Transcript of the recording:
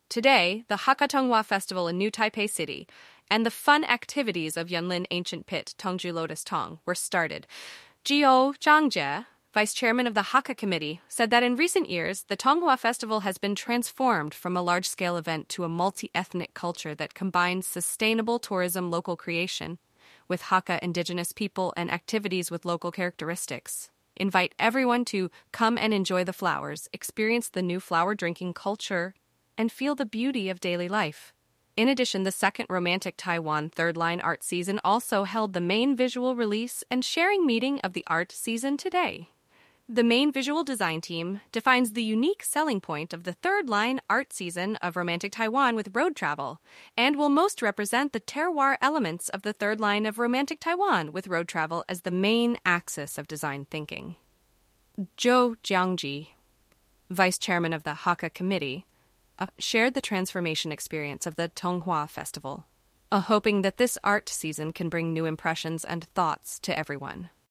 Today, the Hakka Tonghua Festival in New Taipei City and the fun activities of Yunlin Ancient Pit, Tongju Lotus Tong, were started. Jiu Zhangjie, vice chairman of the Hakka Committee, said that in recent years, the Tonghua Festival has been transformed from a large-scale event to a multi-ethnic culture that combines sustainable tourism local creation with Hakka indigenous people and activities with local characteristics. Invite everyone to come and enjoy the flowers, experience the new flower drinking culture, and feel the beauty of daily life. In addition, the second Romantic Taiwan Third Line Art Season also held the main visual release and sharing meeting of the art season today. The main visual design team defines the unique selling point of the Third Line Art Season of Romantic Taiwan with road travel, and will most represent the terroir elements of the Third Line of Romantic Taiwan with road travel as the main axis of design thinking. Zhou Jiangji, vice chairman of the Hakka Committee, shared the transformation experience of the Tonghua Festival, hoping that this art season can bring new impressions and thoughts to everyone.